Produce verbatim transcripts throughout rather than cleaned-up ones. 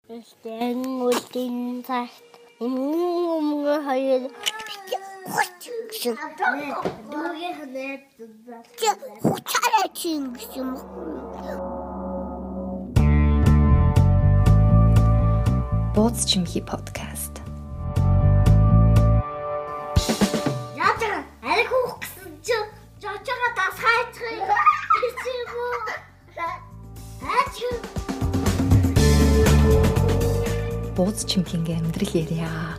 Тэгтээ үлдэн цагт өмнө хоёр гэсэн. Дүүгээ ханаад хуцаараа чинь гэсэн юм. Бууз чимхи подкаст. Яатар аль хөөх гэсэн чи жочоо дас хайцгыг ирсэн үү? Аач Бууз чимхинගේ амьдрал ярья.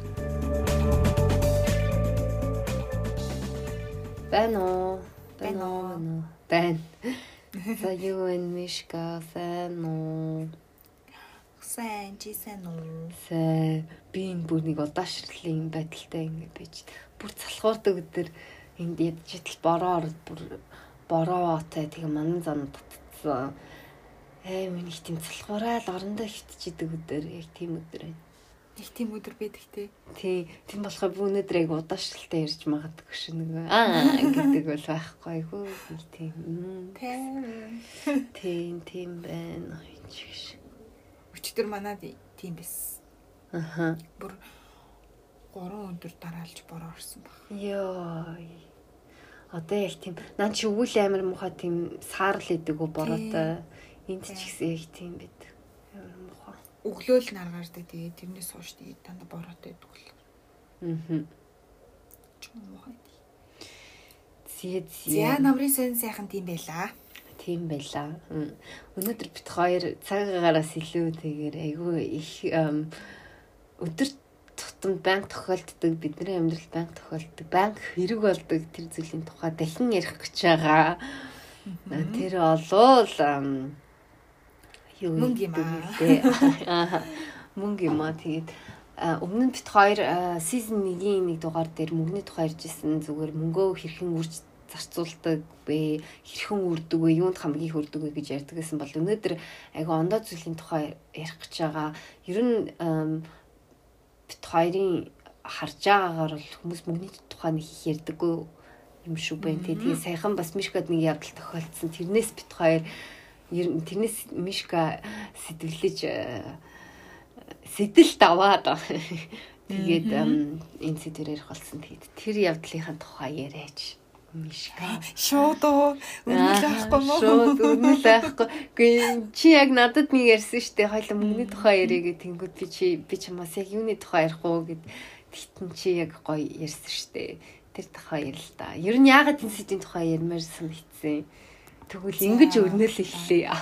Байна уу? Байна уу? Байна. За юу энэ Мишка сайн уу? Сайн чи сайн уу? Сайн. Би энэ бүр нэг удаашрлын байдалтай ингэ байж бүр залхуурдаг өдөр энд ядж идэл бороо ороод бүр бороо отой тэгээ манан зам татцсан. Ээ миний тийм залхуураад орондоо хитчихэд өдөр яг тийм өдөр байна. Их тийм өдөр байдаг те. Тий, тийм болохоор би өнөөдөр яг удаашралтай ярьж магадгүй ш нэг аа гэдэг бол байхгүй айгүй тийм. Тийм тийм байна. Өчтөр манад тийм байсан. Аха. Бүр гурван өдөр дараалж бороо орсон баг. Йоо. Одоо яг тийм нан чи өвөл амир муха тийм саарл идэг үү бороотой. Энд ч ихсэн яг тийм байд. Амир муха. Өглөөл наргаардаг тэгээ тэрнээс хойш тэгээ дандаа бороотой байдаг л. Аа. Чум муха. Зээ зээ. За намрын сэн сайхан тийм байлаа. Тийм байлаа. Өнөөдөр бит хоёр цагаагаараас илүү тэгээд айгүй их өдөр тутамд банк тохиолддог, бидний амьдрал банк тохиолддог, банк хэрэг болдог тэр зүйлийн тухай дахин ярих гэж байгаа. Тэр олвол юу мөнгө юм аа. Мөнгө юм аа. Тэгээд өмнө нь бит хоёр сизон нэгin нэг дугаар дээр мөнгөний тухай ярьжсэн зүгээр мөнгөө хэрхэн үрж зарцуулдаг бэ, хэрхэн үрдэг вэ, юунд хамгийн их үрдэг вэ гэж ярьдаг гэсэн бол өнөөдөр айгу ондоо зүйлийн тухай ярих гэж байгаа. Ер нь бит хоёрын харж байгаагаар бол хүмүүс мөнгөний тухай нэг их ярьдаггүй юм шүү байна. Тэгээ саяхан бас Мишкад нэг явдал тохиолдсон. Тэрнээс бит хоёр ер нь тэрнээс Мишка сэтвэлж сэтэл даваад тэгээд энэ сэдвээр ярих болсон. Тэгээд тэр явдлынхаа тухай яриач. Мишка шууд уу үнэл авахгүй мó шууд үнэл авахгүй. Гэхдээ чи яг надад нэг ярьсан штэ хоёул мөнгөний тухай яриа гэх тэнгүүд би чи би чамаас яг юуны тухай ярих уу гэд тэгтэн чи яг гоё ярьсан штэ. Тэр тухай ярил л да. Ер нь яагаад энэ сэдвийн тухай ярмаар санагдсан. Тэгвэл ингэж өрнөл эхлэе.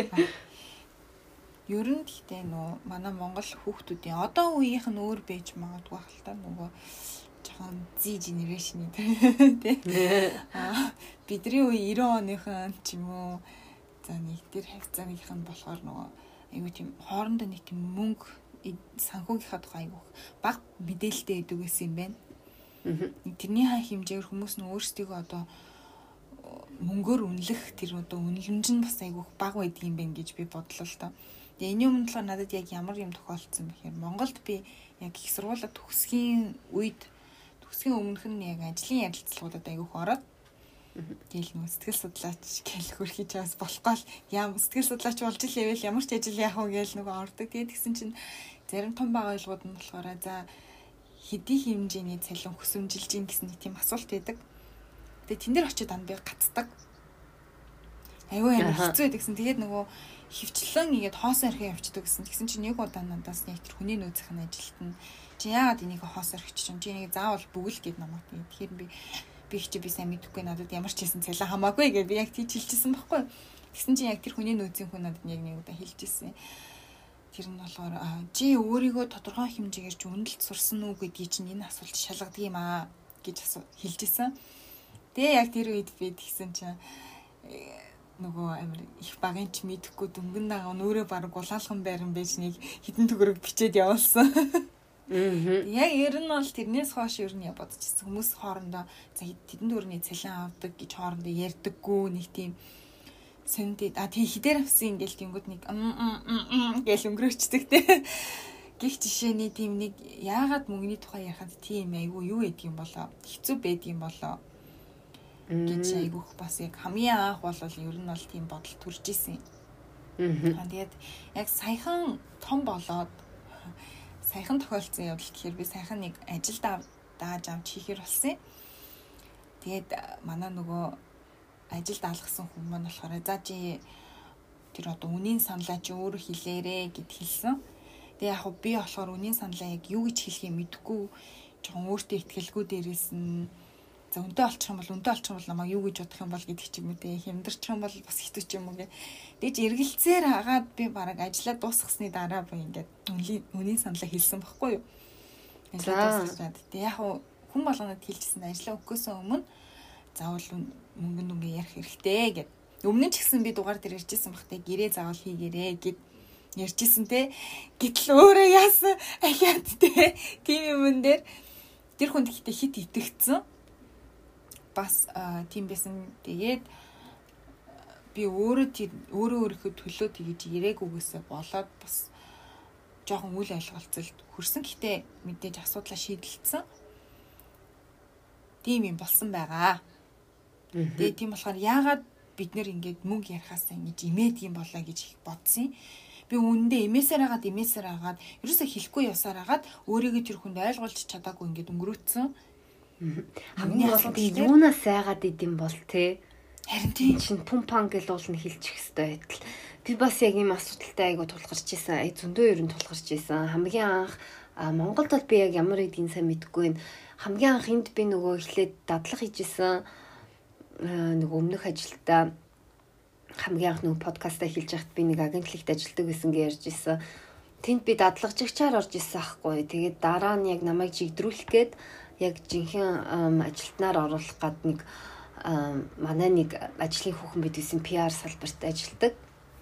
Ер нь гэхдээ нөө манай Монгол хүүхдүүдийн одоо үеийнх нь өөр байж магадгүй хэл та нөгөө жоохон Z generation тий. Аа бидний үе девяносто оныхан ч юм уу за нэг тэр хавцаагийнхан болохоор нөгөө аюу тийм хоорондоо нэг тийм мөнгө санхүүгийнхаа тухай аюу баг мэдээлэлтэй байдаг гэсэн юм байна. Тэрний ха хэмжээгээр хүмүүс нь өөрсдийгөө одоо мөнгөөр үнэлэх тэр одоо үнэлэмж нь бас аюу баг байдаг юм байна гэж би бодлоо л доо. Тэгээ энэ юм болохоор надад яг ямар юм тохиолдсон бэхээр Монголд би яг их сургуулаа төгсгийн үед төгсгийн өмнөх нь яг ажлын ярилцлагуудад аягүй ороод тэгэл нөө сэтгэл судлаач гэл хөрхий чаас болохгүй л яам сэтгэл судлаач болж иléвэл ямар ч ажил яах вэ гээл нөгөө ордог. Тэгээд тэгсэн чинь зарим том бага ойлгууд нь болохоор за хэдий хэмжээний цалин хүсэмжилж ийн гэсэн нэг тийм асуулт байдаг. Тэгээд тэн дээр очиод дан би гацдаг. Аюу амар хэцүү байдагсан. Тэгээд нөгөө хөвчлэн игээд хоосон орхин явчихдаг гэсэн. Тэгсэн чинь нэг удаа надаас нэг тэр хүний нөөцийн ажилт нь чи яагаад энийг хоос орхич чинь чи энийг заавал бүгэл гэд намайг тийм. Тэгэхээр би би их чи би сайн мэдэхгүй надад ямар ч хэлсэн цалин хамаагүй гэж би яг тийч хэлчихсэн байхгүй. Тэгсэн чинь яг тэр хүний нөөцийн хүн надад яг нэг удаа хэлчихсэн. Тэр нь болохоор чи өөрийгөө тодорхой хэмжээгээр ч үнэлэлт сурсан уу гэдгийг чинь энэ асуулт шалгадаг юм аа гэж хэлчихсэн. Тэгээ яг тэр үед би тэгсэн чинь нөгөө амир их багын ч мэдэхгүй дөнгөн дагаа нөөрэ баг гулаалхан байран байж нэг хитэн төгрөг бичээд явуулсан. Аа. Яг ер нь бол тэрнээс хойш ер нь бодчихсон хүмүүс хоорондоо за хитэн төгрөгийн цалин авдаг гэж хоорондоо ярьдаггүй нэг тийм сэндээ а тий хідээр авсан ингээл тэнгууд нэг гэл өнгөрөөчдөг те. Гэх жишээний тийм нэг яагаад мөнгөний тухай ярихад тийм айгүй юу гэдэг юм болоо хэцүү байдаг юм болоо гэж айгүйх бас яг хамгийн анх бол ер нь бол тийм бодол төрж исэн. Тэгээд яг саяхан том болоод саяхан тохиолдсон явдал гэхээр би саяхан нэг ажилд дааж авч хийхэр болсон. Тэгээд манай нөгөө ажилд алгасан хүн маань болохоор за чи тэр одоо үнийн саналаа чи өөрөө хэлээрэ гэд хэлсэн. Тэгээ яг би болохоор үнийн саналаа яг юу гэж хэлхийг мэдэхгүй жоохон өөртөө ихтгэлгүй дээрээс нь за үнтэй олчих юм бол үнтэй олчих юм бол намайг юу гэж бодох юм бол гэдэг ч юм уу те хямдарчих юм бол бас хэцүү ч юм уу гэ. Тэгж эргэлцээр хагаад би бараг ажиллаа дуусгасны дараа би ингээд үнийн саналаа хэлсэн байхгүй юу. Ажиллаа дуусгаад тэгээ яг хүн болгонод хэлчихсэн ажиллаа өгөхөөс өмнө заавал мөнгө нүнгээ ярих хэрэгтэй гэд. Өмнө нь ч гэсэн би дугаар дээр ярьжсэн бахтай гэрээ заавал хийгээрэй гэд ярьжсэн те. Гэтэл өөрөө яасан ахиад те тийм юм дээр тэр хүнд ихтэй хит итгэцэн. Бас тийм байсан. Тэгээд би өөрөө тэр өөрөө өөрийнхөө төлөө тэгж ирээгүйгээсээ болоод бас жоохон үл ойлголцолд хүрсэн. Гэхдээ мэдээж асуудлаа шийдэлцсэн. Тийм юм болсон байгаа. Тэгээд тийм болохоор яагаад бид нэр ингээд мөнгө ярихаасаа ингэж имээд юм болоо гэж бодсон. Би үүндээ имээсээр хагаад имээсээр хагаад ерөөсөө хэлэхгүй явсаар хагаад өөрийгөө тэр хүнд ойлгуулж чадаагүй ингээд өнгөрөөцсөн. Хамгийн гол нь юунаас сайгаад идэм бол те. Харин тийм чин пумпан гэл уулна хэлчих хэвээр байтал. Би бас яг ийм асуудалтай айгу тулгарч ийсэн. Ай зөндөө ерөн тулгарч ийсэн. Хамгийн анх Монголд бол би яг ямар гэдгийг сайн мэдэхгүй. Хамгийн анх энд би нөгөө эхлээд дадлага хийжсэн. Нөгөө өмнөх ажилдаа хамгийн анх нөгөө подкастаа хэлж байхад би нэг агентлагт ажилладаг гэсэн гэж ярьж ирсэн. Тэнд би дадлагжигчаар орж ирсэн аахгүй. Тэгээд дараа нь яг намайг жигдрүүлэх гээд яг жинхэнэ ажилтнаар оруулах гад нэг манай нэг ажлын хүүхэн бид гэсэн пи ар салбарт ажилладаг.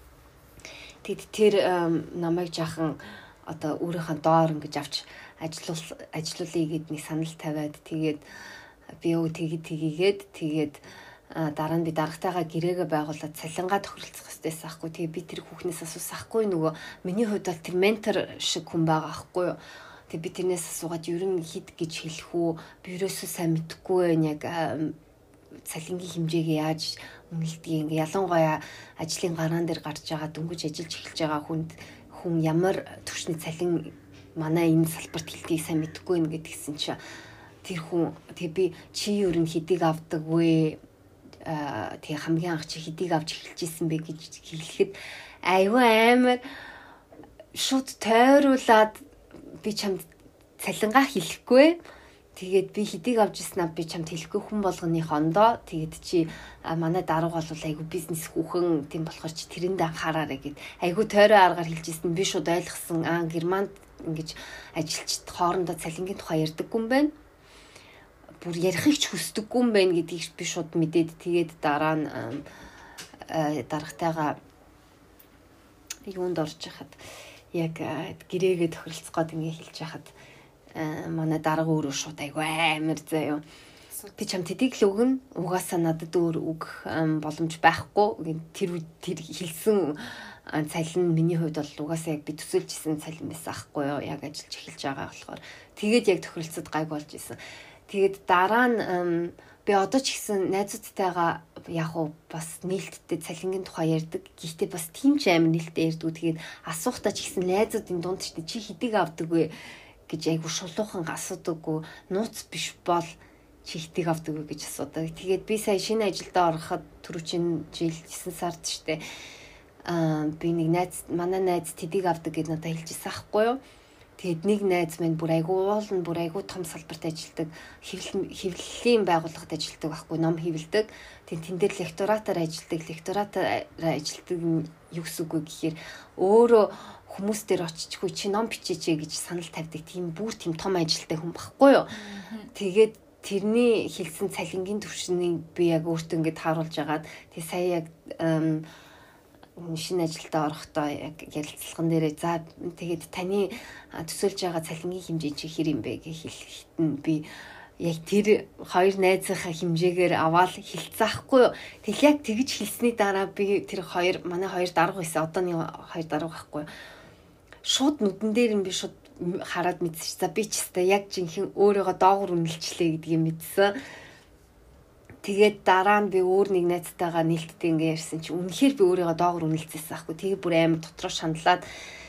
Тэгэд тэр намайг жаахан одоо өөрийнхөө доор ингэж авч ажиллуул ажиллуулъя гэд нэг санал тавиад тэгээд би өө тэгээд тгийгээд тэгээд дараа нь би дарагтайгаа гэрээгээ байгуулад цалингаа тохиролцох хэрэгтэйс аахгүй. Тэгээ би тэр хүүхнээс асуусан аахгүй нөгөө миний хувьд бол тэр ментор шиг хүн байгаа аахгүй юу. Тэгээ би тэрнээс асуугаад ер нь хид гэж хэлэх үү би ерөөсөө сайн мэдэхгүй байх яг цалингийн хэмжээгээ яаж үнэлдэг ингээ ялангуяа ажлын гараан дээр гарч байгаа дөнгөж ажиллаж эхэлж байгаа хүнд хүн ямар түвшний цалин манай энэ салбарт хэлтгийг сайн мэдэхгүй нэ гэдгийгсэн чи тэр хүн тэгээ би чи ер нь хэдийг авдаг вэ а тэгээ хамгийн анх чи хэдийг авч эхэлж исэн бэ гэж хэлэхэд айгүй амар шууд тойруулаад би чамд цалингаа хэлэхгүй. Тэгээд би хэдийг авч ирсэн аа би чамд хэлэхгүй хүн болгоны хондоо. Тэгээд чи манай дарга бол айгүй бизнес хүүхэн тийм болохоор чи тэрэнд анхаараарэ гэд айгүй тойроо аргаар хэлж ирсэн. Би шууд ойлгосон. Аа Германд ингэж ажилчид хоорондоо цалингийн тухай ярьдаггүй юм байна. Бүр ярихыг ч хүсдэггүй юм байна гэдгийг би шууд мэдээд тэгээд дараа нь даргатайгаа юунд орж яхад яг гэрээгээ тохиролцох гээд ингэ хэлж яхад манай дарга өөрөө шууд айгүй амар заяа. Би чам тэдийг л өгнө. Угаасаа надад өөр үг боломж байхгүй. Тэр тэр хэлсэн цалин миний хувьд бол угаасаа яг би төсөөлжсэн цалин байсан аахгүй юу. Яг ажиллаж эхэлж байгаа болохоор тэгээд яг тохиролцоод гайг болж исэн. Тэгээд дараа нь би одоо ч гэсэн найзуудтайгаа яг уу бас нээлттэй цалингийн тухай ярьдаг. Гэхдээ бас тийм ч амар нээлттэй ярьдаг. Тэгээд асуухтаа ч гэсэн найзуудын дунд ч чи хэдийг авдаг вэ гэж айгу шулуухан асуудаггүй. Нууц биш бол чи хэдийг авдаг вэ гэж асуудаг. Тэгээд би сая шинэ ажилдаа ороход түрүүчийн жил десан сард штэ. Аа би нэг найз манай найз тэдийг авдаг гэж надад хэлжсэн аахгүй юу. Тэгэд нэг найз минь бүр айгу уулна бүр айгу том салбарт ажилладаг. Хэвлэлийн байгууллагад ажилладаг байхгүй ном хэвлэдэг. Тэгээд тэн дээр лекторатаар ажилладаг. Лекторатаар ажилладаг юу гэсэн үг вэ гэхээр өөрөө хүмүүс дээр очичгүй чи ном бичээч гэж санал тавьдаг. Тийм бүр тийм том ажилтай хүн баггүй юу. Тэгээд тэрний хэлсэн цалингийн түвшнийг би яг өөртөө ингэж харуулж агаад тэг сая яг шинэ ажилдаа орохдоо яг ярилцлаган дээрээ за тэгээд таны төсөөлж байгаа цалингийн хэмжээ чи хэр юм бэ гэж хэлэхэд нь би яг тэр хоёр найзынхаа хэмжээгээр аваад хэлцээхгүй юу. Тэгэл яг тэгж хэлсний дараа би тэр хоёр манай хоёр дарга байсан. Одооны хоёр дарга байхгүй. Шууд нүдэн дээр нь би шууд хараад мэдсэн. За би ч гэсэн яг жинхэнэ өөрийгөө доогуур үнэлчлээ гэдгийг мэдсэн. Тэгээд дараа нь би өөр нэг найзтайгаа нээлттэй ингээ ярьсан чи үнэхээр би өөрийгөө доогор үнэлцээсэн аахгүй. Тэгээд бүр амар дотроо шаналаад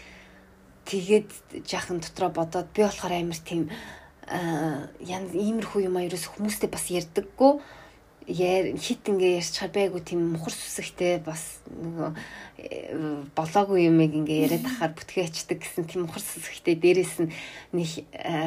тэгээд жаахан дотроо бодоод би болохоор амар тийм ян иймэрхүү юм аа ерөөс хүмүүстэй бас ярьдаггүй. Яа хит ингээ ярьж чаар байгуу тийм мухар сүсэгтэй бас нөгөө болоогүй юмэг ингээ яриад ахаар бүтгээ ачдаг гэсэн тийм мухар сүсэгтэй дээрээс нь нэг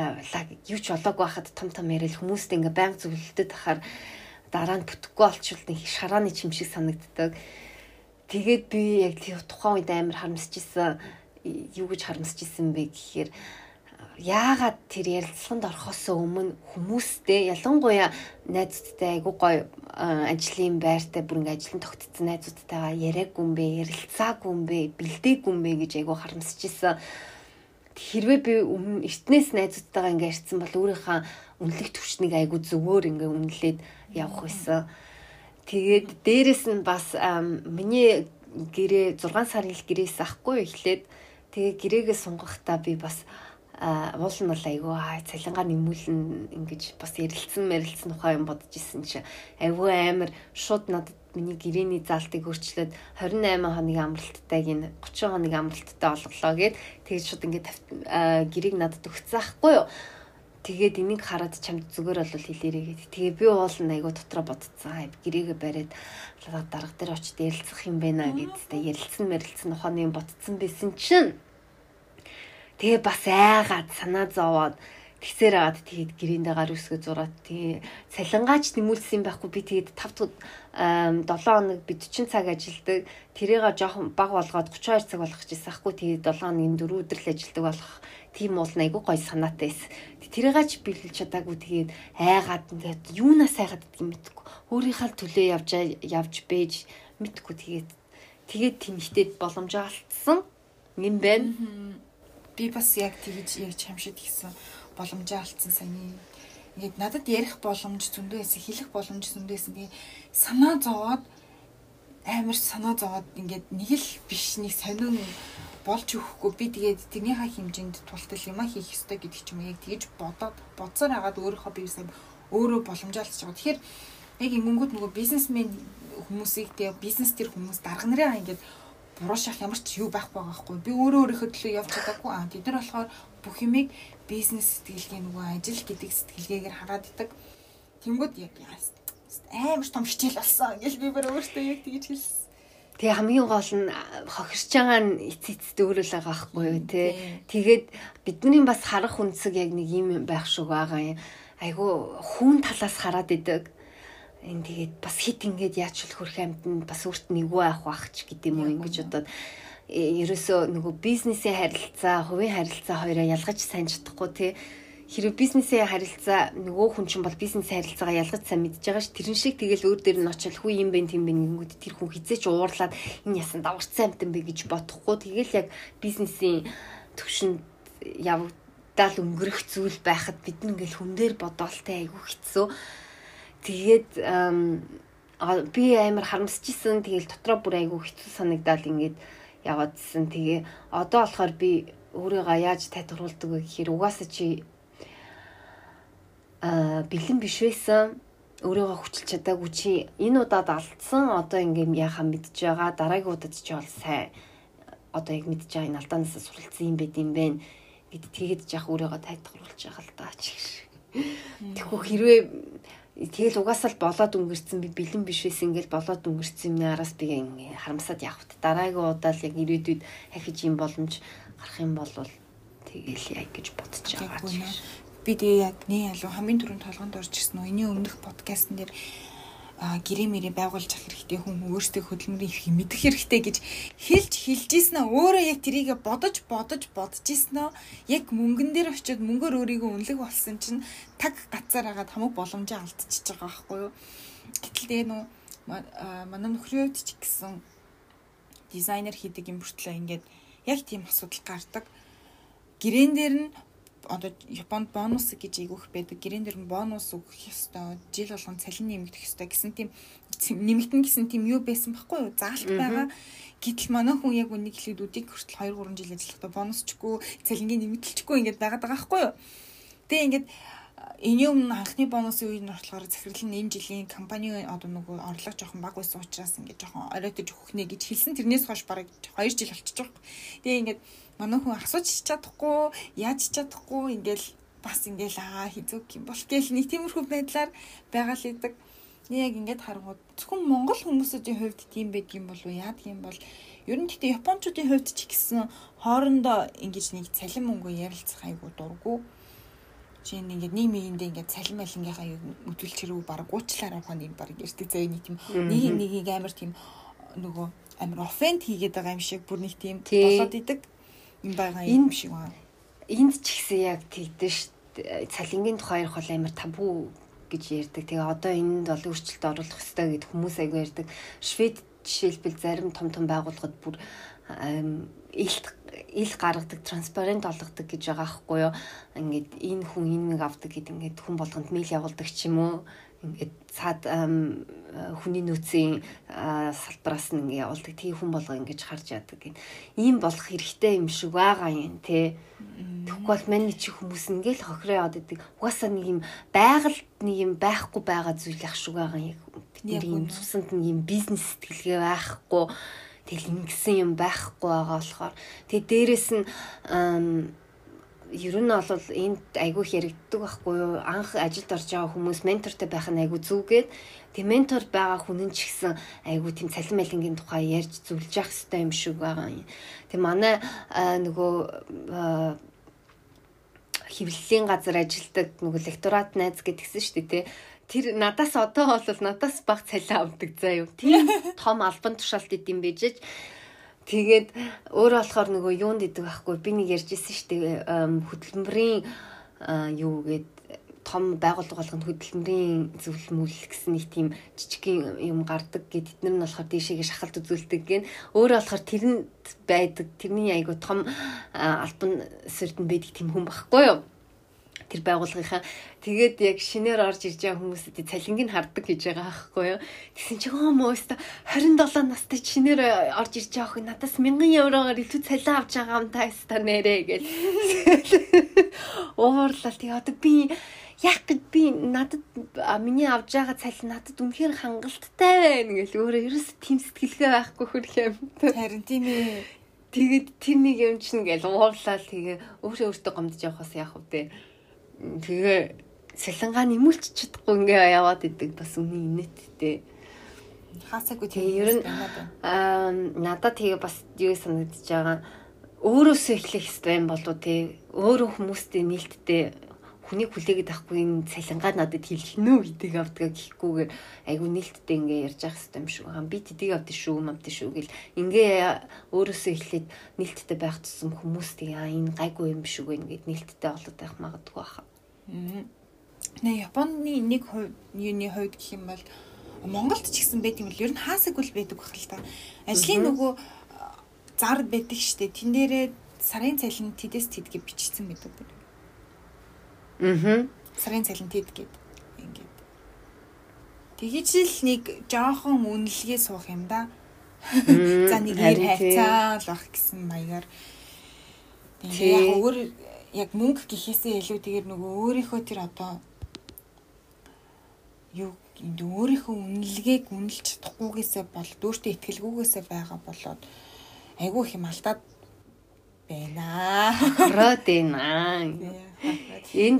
юу ч болоогүй хахад том том яриад хүмүүстэй ингээ байнга зөвлөлдөд ахаар дараа нь бүтэхгүй олчвол нэг шарааны чим шиг санагддаг. Тэгээд би яг тухайн үед амар харамсчихсан. Юу гэж харамсчихсан бэ гэхээр яагаад тэр ярилцлаганд орохоос өмнө хүмүүстэй ялангуяа найзуудтай айгуу гоё ажлын байртай бүр ингээ ажлын тогтцсон найзуудтайгаа яриаггүй юм бэ, ярилцаагүй юм бэ, бэлдээгүй юм бэ гэж айгуу харамсаж исэн. Хэрвээ би эртнээс найзуудтайгаа ингээ ярьсан бол өөрийнхөө үнэлэх төвчнийг айгуу зөвөр ингээ үнэлээд явах байсан. Тэгээд дээрэс нь бас миний гэрээ зургаан сарын л гэрээс ахгүй эхлээд тэгээ гэрээгээ сунгахдаа би бас уул нь бол айгүй цалингаа нэмүүлэн ингэж бас ярилцсан мэрилцсэн ухаан юм бодож исэн чи айгүй амар шууд надад миний гэрээний заалтыг өөрчлөөд двадцать восемь хоногийн амралттайг энэ тридцать хоногийн амралттай олголоо гэд тэгээд шууд ингээд гэрээг надад өгсөн аахгүй юу. Тэгээд энийг хараад чамд зүгээр бол хэлээрэй гэд. Тэгээ би уул нь айгүй дотроо бодцсан. Гэрээгээ бариад дарга дээр очиж ярилцах юм байна гэдтэй ярилцсан мэрилцсэн ухааны юм ботцсон байсан чинь тэгээ бас айгаад санаа зовоод тэгсээр аваад тэгээд гэрээндээ гар үсгээ зураад тэгээ цалингаач нэмүүлсэн байхгүй би тэгээд тавд долоо хоног би forty цаг ажилладаг тэрийгээ жоохон баг болгоод thirty-two цаг болгох гэсэн аахгүй тэгээд seven хоногийн four өдөр л ажилладаг болох тийм уул айгуу гой санаатай байсан. Тэрийгээч биелүүлж чадаагүй тэгээд айгаад ингээд юунаас айгаад гэдэг юм мэдгүй өөрийнхөө төлөө явж явж бэж мэдгүй тэгээд тэгээд тэмхтэд боломжоо алдсан юм байна. Би бас яг тэгж ярьж хамшид гисэн боломжоо алдсан саяны ингээд надад ярих боломж зөндөө байсан, хэлэх боломж зөндөө байсан. Тэгээ санаа зовоод амар санаа зовоод ингээд нэг л биш нэг сонин болж өгөхгүй би тэгээд тэрнийхээ хэмжээнд тултал юм а хийх ёстой гэдэг ч юм яг тэгж бодоод бодсоор хагаад өөрийнхөө биесээ өөрөө боломжоо алдчихж байгаа. Тэгэхээр яг ингэнгүүт нөгөө бизнесмен хүмүүсийг тэгээ бизнес төр хүмүүс дарга нарын ингээд буруу шах ямар ч юу байхгүй байгаа хгүй. Би өөрөө өөрийнхөө төлөө явж чадаагүй. Аа тэд нар болохоор бүх юмыг бизнес сэтгэлгээ нөгөө ажил гэдэг сэтгэлгээгээр хараад идэг. Тэнгүүд яг амар том хичээл болсон. Ингээл би бүр өөртөө яг тэгж хэлсэн. Тэгээ хамгийн гол нь хохирч байгаа нь эц эцэд өөрөө л байгаа байхгүй юу те. Тэгээд бидний бас харах үндсэг яг нэг юм байх шиг байгаа юм. Айгу хүн талаас хараад идэг. Энэ тэгээд бас хит ингээд яаж ч хөрх амьтанд бас өөрт нэггүй авах байх ч гэдэг юм уу ингэж бодоод ерөөсөө нөгөө бизнесийн харилцаа, хувийн харилцаа хоёроо ялгаж сайн чадахгүй тий. Хэрэв бизнесийн харилцаа нөгөө хүн чинь бол бизнесийн харилцаагаа ялгаж сайн мэдж байгаа ш. Тэрэн шиг тэгэл өөр дээр нь очил хүү юм бэ тийм бэ нэгүүд тэр хүн хизээч уурлаад энэ ясан даварцсан амтан бэ гэж бодохгүй. Тэгэл яг бизнесийн төвшөнд явагдал өнгөрөх зүйл байхад бид нэг ингээл хүн дээр бодоолтай айгүй хэцүү. Тэгээд би амар харамсчихсан. Тэгэл дотроо бүр айгүй хэцүү санагдаад ингээд яваадсэн. Тэгээ одоо болохоор би өөрийгөө яаж тайлбарлуулдаг вэ гэхээр угаасаа чи а бэлэн биш байсан. Өөрийгөө хүчилж чадаагүй чи энэ удаад алдсан. Одоо ингээд яхаа мэдж байгаа. Дараагийн удаад чи бол сайн. Одоо яг мэдж байгаа энэ алдаанаас суралцсан юм байд юм бэ гэд тэгээд яах өөрийгөө тайлбарлуулж байгаа л даа чи. Тэгэхгүй хэрвээ тэгэл угаасаа л болоод өнгөрцөн би бэлэн биш байсан ингээл болоод өнгөрцөн юм араас би ингээ харамсаад явах. Дараагийн удаа л яг ирээдүйд ахиж юм боломж гарах юм бол тэгэл яг гэж бодож байгаа ч. Би тэгээ яг нэ алуу хамгийн түрүүнд толгонд орж ирсэн нөө энэ өмнөх подкастн дээр гэрээ мэрээ байгуулж авах хэрэгтэй хүн өөрсдөө хөдөлмөрийн их мэдэх хэрэгтэй гэж хэлж хэлж ийсэн аа өөрөө яг тэрийгэ бодож бодож бодож ийсэн аа яг мөнгөн дээр очиод мөнгөөр өөрийгөө үнэлэх болсон чинь таг гацаар хагаад хамаг боломжоо алдчихж байгаа байхгүй юу. Гэтэл тэгээ нөө манай нөхрийн хувьд ч гэсэн дизайнер хийдэг юм бүртлээ ингээд яг тийм асуудал гардаг. Гэрээн дээр нь одоо Японд бонус гэж ийгөх байдаг. Гэрээн дээр нь бонус өгөх ёстой. Жил болгон цалин нэмэгдэх ёстой гэсэн тийм нэмэгдэн гэсэн тийм юу байсан байхгүй юу? Заалт байгаа. Гэтэл манай хүн яг үнийг хэлээд үдийг хүртэл two three жил ажиллахдаа бонусчгүй, цалингийн нэмэгдэлчгүй ингээд байгаад байгаа байхгүй юу? Тэгээ ингээд энэ юм анхны бонусын үед нь болохоор захирал нь энэ жилийн компани одоо нөгөө орлого жоохон бага байсан учраас ингээд жоохон оройтож өгөх нэ гэж хэлсэн. Тэрнээс хойш бараг хоёр жил болчихж байгаа. Тэгээ ингээд манай хүн асууж чадахгүй, яаж чадахгүй ингээл бас ингээл аа хизүүг юм бол гээл нэг тиймэрхүү байдлаар байгаа л идэг. Яг ингээд харангууд зөвхөн монгол хүмүүсийн хувьд тийм байдаг юм болов уу? Яадаг юм бол ер нь гэхдээ японочдын хувьд ч гэсэн хоорондоо ингэж нэг цалин мөнгө ярилцах айгуу дурггүй. Жин ингээд нийгмигэндээ ингээд цалин малингийнхаа өдөлч хэрэг баг уучлаарай ухаан нэг баг ярьдаг заяа нэг тийм нэг нэгийг амар тийм нөгөө амар оффенд хийгээд байгаа юм шиг бүр нэг тийм болоод идэг юм байгаа юм шиг байна. Энд ч гэсэн яг тэгдэж шүү. Цалингийн тухай ярих бол амар табу гэж ярьдаг. Тэгээ одоо энд бол өөрчлөлт оруулах хэрэгтэй гэд хүмүүс айгүй ярьдаг. Швед жишээлбэл зарим том том байгууллагууд бүр ил ил гаргадаг, транспарент олгодог гэж байгаа байхгүй юу. Ингээд энэ хүн энэ нэг авдаг гэд ингээд хүн болгонд мэйл явуулдаг ч юм уу. Ингээд цаад хүний нөөцийн салбараас нь ингээд явуулдаг. Тэгээ хүн болго ингэж харж яадаг гин. Ийм болох хэрэгтэй юм шиг байгаа юм те. Тэгэхгүй бол манай чи хүмүүс ингээл хохироо яваад идэг. Угаасаа нэг юм байгальд нэг юм байхгүй байгаа зүйл ах шиг байгаа юм. Бидний юм цусанд нэг юм бизнес сэтгэлгээ байхгүй. Тэгэл ингэсэн юм байхгүй байгаа болохоор тэгээ дээрэс нь ер нь бол энд айгүй хэрэгддэг байхгүй юу? Анх ажилд орж байгаа хүмүүс ментортой байх нь айгүй зүгээд тэгээ ментор байгаа хүн нь ч гэсэн айгүй тийм цалин малингийн тухай ярьж зөвлөж явах хэрэгтэй юм шиг байгаа юм. Тэгээ манай нөгөө хэвлэлийн газар ажилдаг нөгөө лекторат найз гэдгсэн шүү дээ тий. Тэр надаас одоо бол надаас бага цалин авдаг заа юу. Тийм том албан тушаалт идэм бижиж. Тэгээд өөрөө болохоор нөгөө юунд идэг байхгүй би нэг ярьжсэн шүү дээ. Хөдөлмөрийн юу гээд том байгууллага болгонд хөдөлмөрийн зөвлөмөл гэсэн нэг тийм жижигхэн юм гардаг гэд эднэр нь болохоор дээшээгээ шахалт үзүүлдэг гэн. Өөрөө болохоор тэрэнд байдаг тэрний айгуу том албан сөрдөнд байдаг тийм хүн байхгүй юу. Тэр байгууллагынхаа тэгээд яг шинээр орж ирж байгаа хүмүүсэд цалингийг хардаг гэж байгаа байхгүй юу. Тэгсэн чи хөө мөөстө хорин долоо настай шинээр орж ирж байгаа хүн надаас мянган евроор илүү цалин авч байгаа юм та яста нэрээ гэл. Уурлал тэгээ одоо би яг гэд би надад миний авж байгаа цалин надад үнэхээр хангалттай байна гэл өөрөө ерөөс тийм сэтгэлгээ байхгүй хөрх юм. Харин тийм ээ. Тэгээд тэр нэг юм чинь гэл уурлал тэгээ өөрөө өөртөө гомдож явахаас яах вэ? Тэгээ салингаа нэмүүлч чадахгүй ингээ яваад идэг бас үний инээдтэй. Хаасаагүй тийм ер нь аа надад тэгээ бас юу санагдаж байгаа өөрөөсөө эхлэх хэрэгтэй юм болов тий. Өөрөө хүмүүстэй нээлттэй хүнийг хүлээгээд авахгүй энэ салингаа надад хэлхинөө гэдэг авдгаа гэхгүйгээр айгу нээлттэй ингээ ярьж явах хэрэгтэй юм шиг байгаа. Би тэдийг авдээ шүү, мамдээ шүү гэл ингээ өөрөөсөө эхлээд нээлттэй байх тусам хүмүүс тэгээ энэ гайгүй юм шиг байна гэд нээлттэй болоод байх магадгүй баха. Нэ Японы нэг юуны хувьд гэх юм бол Монголд ч гэсэн байт юм бол ер нь хаасаагүй л байдаг бахал та. Ажлын нөгөө зар байдаг штэ. Тэн дээрээ сарын цалин тэдэс тэдгээ бичсэн байдаг бүр. Аа. Сарын цалин тэд гээд ингээд. Тэгэж л нэг жоохон үнэлгээ суух юм да. За нэг ир хайцаа л бах гэсэн маягаар. Тэгээ яг өөр яг мөнгө гэхээсээ илүү тэгээд нөгөө өөрийнхөө тэр одоо юу өөрийнхөө үнэлгээг үнэлж чадахгүйгээсээ бол дүүртээ итгэлгүйгээсээ байгаа болоод айгүй их юм алдаад байна. Роод байна. Энд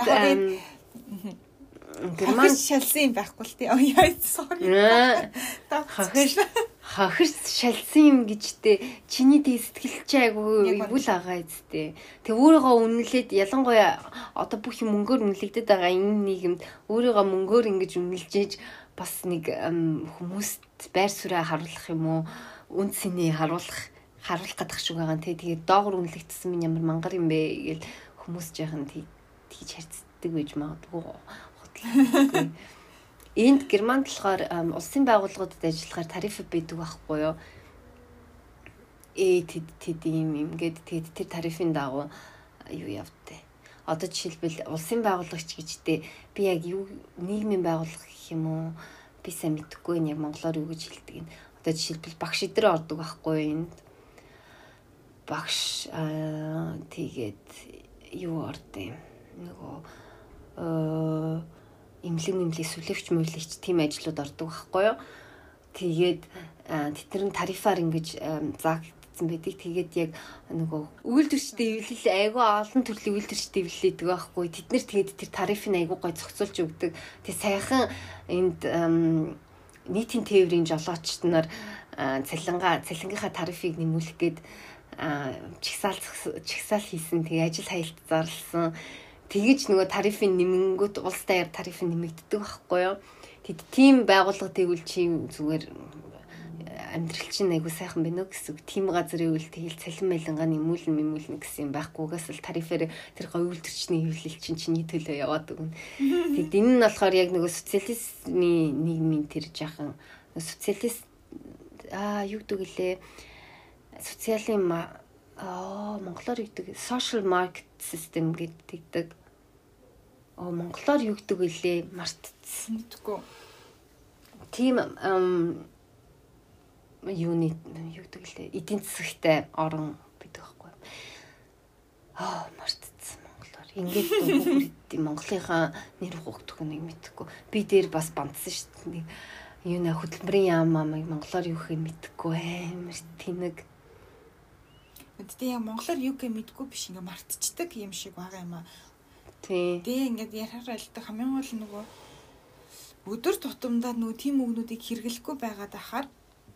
гэрман шалсан юм байхгүй л тий. Яа sorry. Хахир хахир шалсан юм гэжтэй чиний тэг сэтгэл чи айгүй эвгүй л байгаа эцтэй. Тэг өөрийгөө үнэлээд ялангуяа одоо бүх юм мөнгөөр үнэлэгдэж байгаа энэ нийгэмд өөрийгөө мөнгөөр ингэж үнэлжээж бас нэг хүмүүст байр суурь харуулах юм уу үн цэний харуулах харуулах гадах шиг байгаа. Тэгээ доогор үнэлэгдсэн минь ямар мангар юм бэ гэл хүмүүс жаахан тийж харьцдаг байж магадгүй. Энд Германд болохоор улсын байгууллагуудад ажиллахаар тариф байдаг байхгүй юу? Ээ тэд тэд юм юм гээд тэгэд тэр тарифын дагуу юу явдээ. Одоо жишээлбэл улсын байгууллагч гэжтэй би яг юу нийгмийн байгууллага гэх юм уу? Би сайн мэдэхгүй нь яг монголоор юу гэж хэлдэг юм. Одоо жишээлбэл багш идэр ордог байхгүй юу энд? Багш тэгээд юу ордог юм? Нөгөө э имлэг нэмлэг сүлэвч мөвлөгч тийм ажлууд ордог байхгүй юу. Тэгээд тэд нар тарифаар ингэж заагдсан байдаг. Тэгээд яг нөгөө үйлдвэрчтэй эвлэл айгүй олон төрлийн үйлдвэрчтэй эвлэлдэг байхгүй. Тэд нар тэгээд тэр тарифыг айгүй гой зохицуулж өгдөг. Тэгээд сайхан энд нийтийн тээврийн жолоочд нар цалингаа цалингийнхаа тарифыг нэмүүлэх гээд чигсаал чигсаал хийсэн. Тэгээ ажил хаялт зарласан. Тэгэж нөгөө тарифын нэмэнгүүт улс даяар тарифын нэмэгддэг байхгүй юу. Тэд тийм байгууллага тэгвэл чи зүгээр амьдрал чинь айгу сайхан байна уу гэсэн. Тийм газрын үйл тэгэл цалин байлангаа нэмүүлэн нэмүүлнэ гэсэн юм байхгүйгээс л тарифээр тэр гоё үйлдвэрчний хэвлэл чинь чиний төлөө яваад өгнө. Тэгэд энэ нь болохоор яг нөгөө социализмын нийгмийн тэр жахан социалист аа юу гэдэг лээ социалын аа монголоор юу гэдэг social market system гэдэг. Оо монголоор юу гэдэг вэ? Мартцсан мэдгүй. Тийм юуны юу гэдэг лээ эдийн засагтай орон гэдэг байхгүй. Аа мартцсан монголоор. Ингээд дөнгөж Монголынхаа нэр хугдах нэг мэдхгүй. Би дээр бас бандсан шүү дээ. Юу нэ хөтөлбөрийн яам амыг монголоор юу гэхээ мэдхгүй амар тэнэг. Тэгтээ яг монголоор юу гэхээ мэдгүй биш ингээ мартчихдаг юм шиг байгаа юм аа. Тий. Тэгээ ингээд ярахаар л хамгийн гол нөгөө өдөр тутамдаа нөгөө тийм үгнүүдийг хэрэглэхгүй байгаад ахаар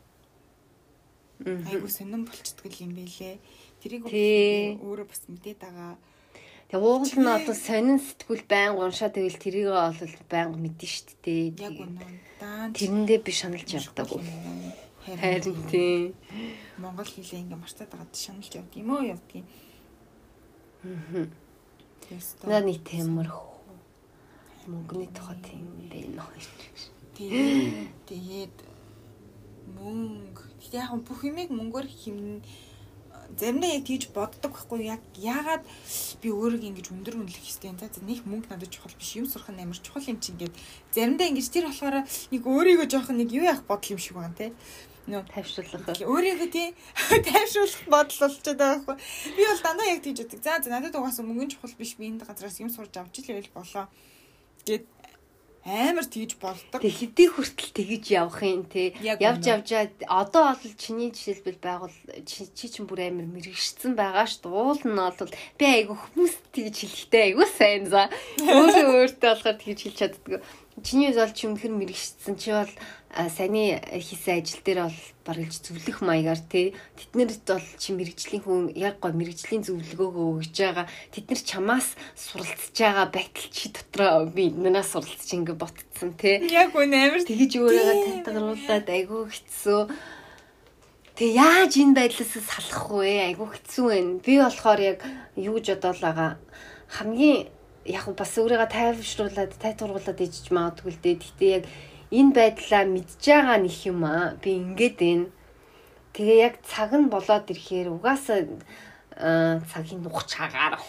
айгуу сонирн болчихдаг юм байлээ. Тэрийг өөрөө бас мэдээд байгаа. Тэгээ уугал нь одоо сонин сэтгүүл байнг уншаа тэгвэл тэрийг бол байнг мэдэн шүү дээ. Яг үнэн. Тэрэндээ би шаналж явдаг. Харин тий. Монгол хэлээ ингээ мартаад байгаад шаналж явд юм уу явдгийг. Аа. Наа нэг темэр мөнгөний тухай тийм байна. Тэгээд тэгээд мөнгө тэгээд яг бүх юмыг мөнгөөр хэмнэ. Заримдаа яг тийж боддог байхгүй яг яагаад би өөрийгөө ингэж өндөр үнэлэх хэвтэй. За нэг мөнгө надад чухал биш юм сурах нь амар чухал юм чинь гээд заримдаа ингэж тэр болохоор нэг өөрийгөө жоох нэг юу яах бодол юм шиг байна те. Нөө тайвшруулах. Өөрийгөө тий тайвшруулах бодол болчиход байгаа байхгүй. Би бол дандаа яг тийж боддог. За надад угаасаа мөнгөн чухал биш би энэ газраас юм сурж авч ийл болоо. Гэт амар тийж болдог. Тэг хэдий хүртэл тэгэж явах юм те. Явж явжаад одоо бол чиний жишээлбэл байгуул чи чинь бүр амар мэрэгшсэн байгаа ш. Уул нь бол би айгу хүмүүст тэгэж хэлэхтэй айгу сайн за. Өөрөө өөртөө болохоор тэгэж хэлж чаддаг. Чиний бол чи өмнөхөр мэрэгшсэн чи бол саяны хийсэн ажил дээр бол барилж зөвлөх маягаар тий тэднэрт бол чи мэрэгжлийн хүн яг гоо мэрэгжлийн зөвлөгөөгөө өгж байгаа тэд нар чамаас суралцж байгаа байтал чи дотроо би энэс суралцж ингэ ботцсон тий яг үнэ амар тэгэж өөрийгөө татгаруулаад айгүй хэцүү тэг яаж энэ байдлаас салах вэ айгүй хэцүү байна би болохоор яг юу гэж бодоол байгаа хамгийн яг бас өөрийгөө тайвшруулад тайтургуулад ижиж магадгүй л дээ гэхдээ яг энэ байдлаа мэдж байгаа нэг юм аа би ингээд байна. Тэгээ яг цаг нь болоод ирэхээр угаасаа цагийн нухч хагаар.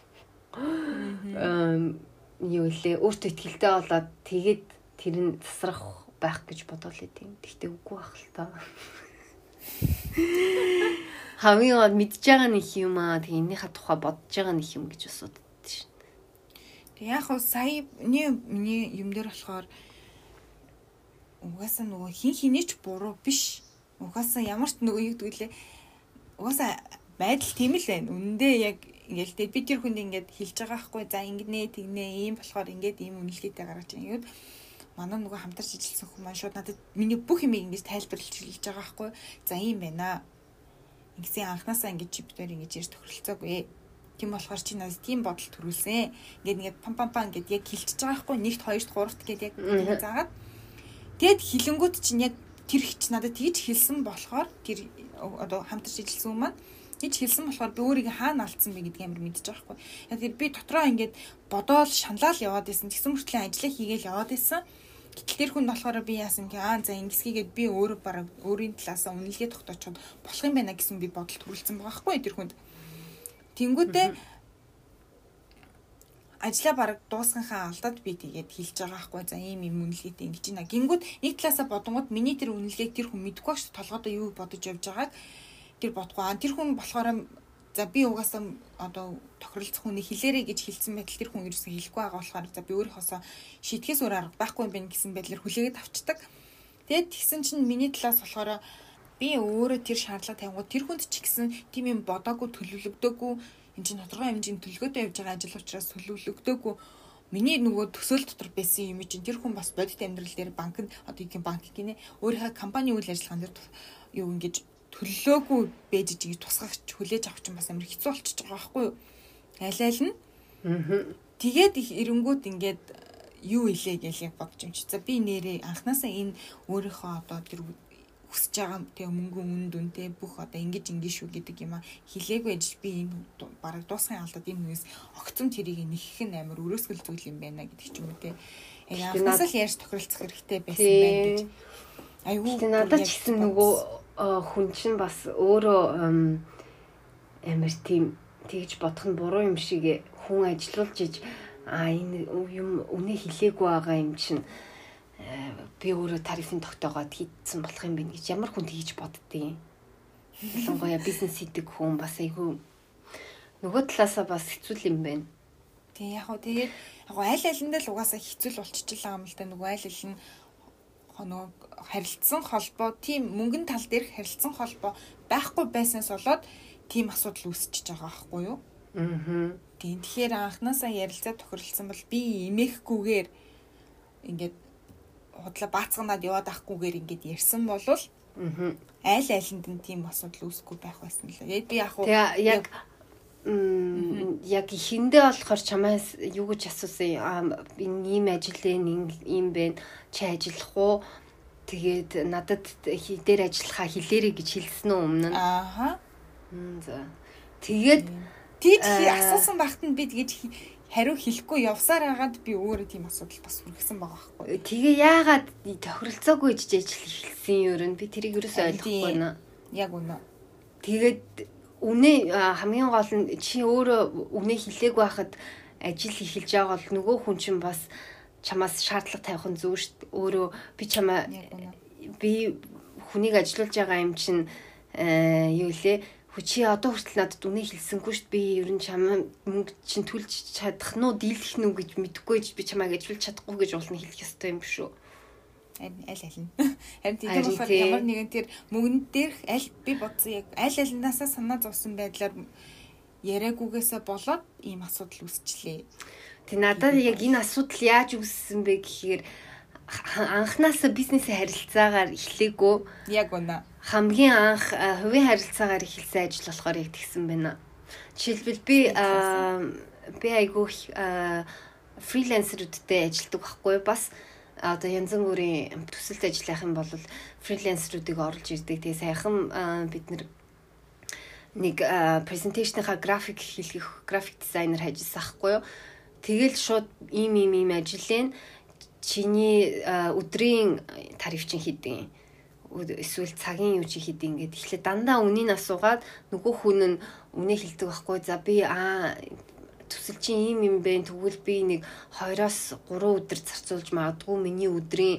Эм юу лээ өөртөө ихтэй болоод тэгээд тэр нь засрах байх гэж бодоол идэв. Тэгтээ үгүй байх л та. Хамгийн гол мэдж байгаа нэг юм аа тэг энийхээ тухай бодож байгаа нэг юм гэж бас боддоо шин. Тэг яг хөө сая миний юм дээр болохоор угаасаа нөгөө хин хинээч буруу биш. Угаасаа ямар ч нөгөө юу гэдгэлээ угаасаа байдал тийм л байна. Үнэндээ яг ингээл тэ би тэр хүнд ингээд хэлж байгаа хгүй за ингэнэ тэгнэ ийм болохоор ингээд ийм үнэлгээтэй гаргаж байгаа юм. Манай нөгөө хамтарч ижилсэн хүмүүс маань шууд надад миний бүх юмыг ингэж тайлбарлаж хэлж байгаа хгүй. За ийм байна. Ингэсэн анханасаа ингэж чиптээр ингэж ирж тохиролцоогүй. Тийм болохоор чи надад тийм бодол төрүүлсэн. Ингээд ингээд пам пам пам ингээд яг хэлчихэж байгаа хгүй. Нэгт, хоёрт, гуравт гэдэг яг заагаад тэгэд хилэнгүүд чинь яг тэр хич надад тэгж хэлсэн болохоор тэр одоо хамтарч ижилсэн хүмүүс маань тэгж хэлсэн болохоор би өөрийгөө хаана алдсан бэ гэдгийг амар мэдчих байхгүй. Яг тэр би дотроо ингээд бодоол шаналал яваад байсан. Тэгсэн мөртлөө ажиллаа хийгээл яваад байсан. Гэтэл тэр хүн болохоор би яасан гэ аа за ингэсгийгээд би өөрөө бараг өөрийн талаасаа үнэлгээ тогтоочиход болох юм байна гэсэн би бодол төрүүлсэн байгаа байхгүй тэр хүнд. Тэнгүүтээ ажлаа бараг дуусганхаа алдаад би тэгээд хэлж байгаа хгүй за ийм юм үнэлгээтэй ингэж байна. Гингүүд нэг талаасаа бодонгууд миний тэр үнэлгээг тэр хүн мэдгүй ш толгойдоо юу бодож явж байгааг тэр бодгоо. Тэр хүн болохоор За би угаасаа одоо тохиролцох хүний хэлээрэй гэж хэлсэн байтал тэр хүн ерөөсөө хэлэхгүй байгаа болохоор за би өөрийнхоосоо шийтгэс өөр арга байхгүй юм байна гэсэн байдлаар хүлээгээд авчдаг. Тэгээд тэгсэн чинь миний талаас болохоор би өөрөө тэр шаардлага тавингууд тэр хүнд ч гэсэн тийм юм бодоогүй төлөвлөгдөөгүй энэ чинь тодорхой хэмжээний төлөвлөгөөтэй явж байгаа ажил учраас төлөвлөгдөөгүй миний нөгөө төсөөл дотор байсан юм чинь тэр хүн бас бодит амьдрал дээр банкнд одоо их банк гинэ өөрийнхөө компани үйл ажиллагаан дээр юу ингэж төллөөгүй бэж гэж тусгагч хүлээж авах чинь бас амар хэцүү болчихж байгаа байхгүй юу? Аль аль нь. Аа. Тэгээд их эренгүүд ингээд юу илээ гэж яг бодож юм чи. За би нэрээ анханасаа энэ өөрийнхөө одоо тэр хүсэж байгаа тэг мөнгө үн дүнтэй бүх одоо ингэж ингэ шүү гэдэг юм а хилээгүй ажил би энэ бараг дуусгын алдаад энэ хүнээс огцом тэрийг нэхэх нь амар өрөөсгөл зүйл юм байна гэдэг ч юм уу те. Яг анханасаа л яаж тохиролцох хэрэгтэй байсан байх гэж. Айгуу. Тэг надад ч гэсэн нөгөө хүн чинь бас өөрөө амар тийм тэгж бодох нь буруу юм шиг хүн ажилуулж иж а энэ юм үнэ хилээгүй байгаа юм чинь би өөрөө тарифын тогтоогоод хийдсэн болох юм байна гэж ямар хүн тэгж боддیں۔ Ялангуяа бизнес хийдэг хүн бас айгүй нөгөө талаасаа бас хэцүү юм байна. Тэг яг хөө тэгээд яг аль алиндаа л угаасаа хэцүү болчихлоо юм л да нөгөө аль аль нь нөгөө харилцсан холбоо тийм мөнгөн тал дээрх харилцсан холбоо байхгүй байснаас болоод тийм асуудал үүсчихэж байгаа байхгүй юу? Аа. Тийм тэгэхээр анханасаа ярилцаа тохиролцсон бол би эмээхгүйгээр ингээд худлаа баацганаад яваад ахгүйгээр ингээд ярьсан бол аа аль алинд нь тийм асуудал үүсэхгүй байх байсан л. Яг би яг яг м яг хиндэ болохоор чамаас юу гэж асуусан энэ ийм ажил ийм байна чи ажиллах уу тэгээд надад дээр ажиллахаа хэлээрэй гэж хэлсэн үү өмнө нь ааха за тэгээд тийч асуусан багт нь би тэгэж хариу хэлэхгүй явсаар хагаад би өөрөө тийм асуудал бас хүргэсэн байгаа байхгүй тэгээ яагаад тохиролцоогүй гэж ажил эхэлсэн юм ер нь би тэрийг ерөөсөй ойлгохгүй байна яг үнэ тэгээд үнэ хамгийн гол нь чи өөрөө үнэ хэлээгүй байхад ажил эхэлж байгаа бол нөгөө хүн чинь бас чамаас шаардлага тавих нь зөв шүү дээ. Өөрөө би чамаа би хүнийг ажилуулж байгаа юм чинь юу лээ чи одоо хүртэл надад үнэ хэлсэнгүй шүү дээ. Би ер нь чамаа мөнгө чинь төлж чадах нь уу дийлэх нь үү гэж мэдэхгүй гэж би чамайг ажилуулж чадахгүй гэж уулна хэлэх ёстой юм шүү. Аль аль нь харин тийм болохоор ямар нэгэн тэр мөнгөн дээрх аль би бодсон яг аль алинаасаа санаа зовсон байдлаар яриагүйгээсээ болоод ийм асуудал үүсчлээ. Тэг надад яг энэ асуудал яаж үүссэн бэ гэхээр анханасаа бизнесийн харилцаагаар эхлэегүй яг үнэ хамгийн анх хувийн харилцаагаар эхэлсэн ажил болохоор яг тэгсэн байна. Жишээлбэл би би айгүй фрилансерүүдтэй ажилтдаг байхгүй бас одоо янз бүрийн төсөлт ажиллах юм бол фрилансеруудыг оруулж ирдэг. Тэгээ сайхан бид нэг презентацийнхаа график хийх график дизайнер хайжсан ахгүй юу. Тэгэл шууд ийм ийм ийм ажиллаэн чиний өдрийн тариф чинь хийдэг. Эсвэл цагийн юу чи хийдэг ингээд эхлээ дандаа үнийн асуугаад нөгөө хүн нь үнэ хэлдэг байхгүй. За би аа төсөл чинь ийм юм бэ. Тэгвэл би нэг хоёроос гурван өдөр зарцуулж магадгүй миний өдрийн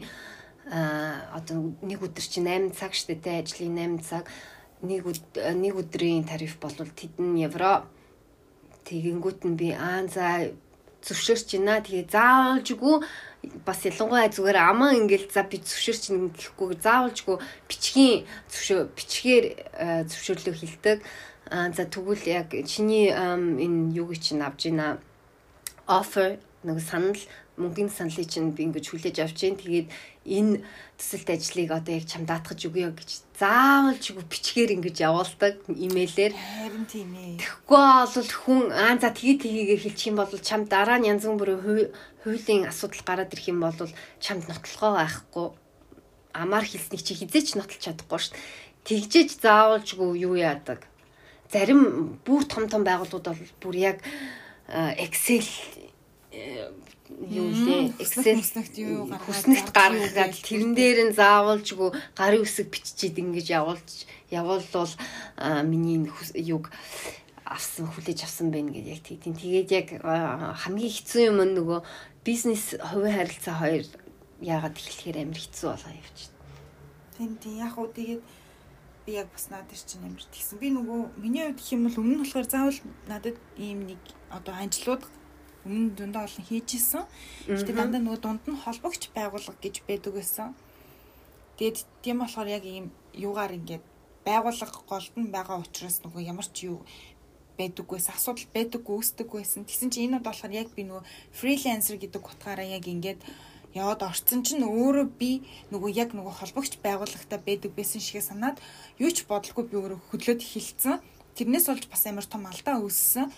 одоо нэг өдөр чинь найман цаг штэ тэ ажлын найман цаг нэг нэг өдрийн тариф бол тэдэн евро. Тэгэнгүүт нь би аа за зөвшөөрч байна. Тэгээ заавалжгүй бас ялангуяа зүгээр аман ингээл за би зөвшөөрч юм гэхгүй заавалжгүй бичгийн зөвшөө бичгээр зөвшөөрлөө хэлдэг. А за тэгвэл яг чиний энэ юуг чинь авж ийна offer нэг санал мөнгөний саналыг чинь би ингэж хүлээж авч जैन. Тэгээд энэ төсөлт ажлыг одоо яг чам даатгаж өгье гэж заавалжгүй бичгээр ингэж явуулдаг имэйлээр. Харин тийм ээ. Тэгэхгүй бол хүн аа за тэгээ тгийгээ хэлчих юм бол чам дараа нь янз бүрийн хуулийн асуудал гараад ирэх юм бол чамд нотлохоо байхгүй. Амаар хэлснийг чи хизээч нотлох чадахгүй шүү дээ. Тэгжээж заавалжгүй юу яадаг. Зарим бүр том том байгууллагууд бол бүр яг Excel юу лээ Excel хүснэгт гаргаад тэрэн дээр нь заавалжгүй гарын үсэг биччихэд ингэж явуулж явуулвал миний юг авсан хүлээж авсан байна гэж яг тийм. Тэгээд яг хамгийн хэцүү юм нөгөө бизнес хувийн харилцаа хоёр яагаад эхлэхээр амар хэцүү болоо явчихна. Тийм тийм яг уу тэгээд би яг бас надад чинь ямар тэгсэн. Би нөгөө миний хувьд гэх юм бол өмнө нь болохоор заавал надад ийм нэг одоо анжлууд өмнө дундаа олон хийжсэн. Гэтэ дандаа нөгөө дунд нь холбогч байгууллага гэж байдаг байсан. Тэгээд тийм болохоор яг ийм юугаар ингээд байгууллага голд нь байгаа учраас нөгөө ямар ч юу байдаггүйс асуудал байдаггүй үүсдэг байсан. Тэгсэн чинь энэ нь болохоор яг би нөгөө фрилансер гэдэг утгаараа яг ингээд яваад орцсон чинь өөрөө би нөгөө яг нөгөө холбогч байгууллагатай байдаг байсан шиг санаад юу ч бодлого би өөрөө хөдлөөд эхэлсэн. Тэрнээс болж бас амар том алдаа үүссэн.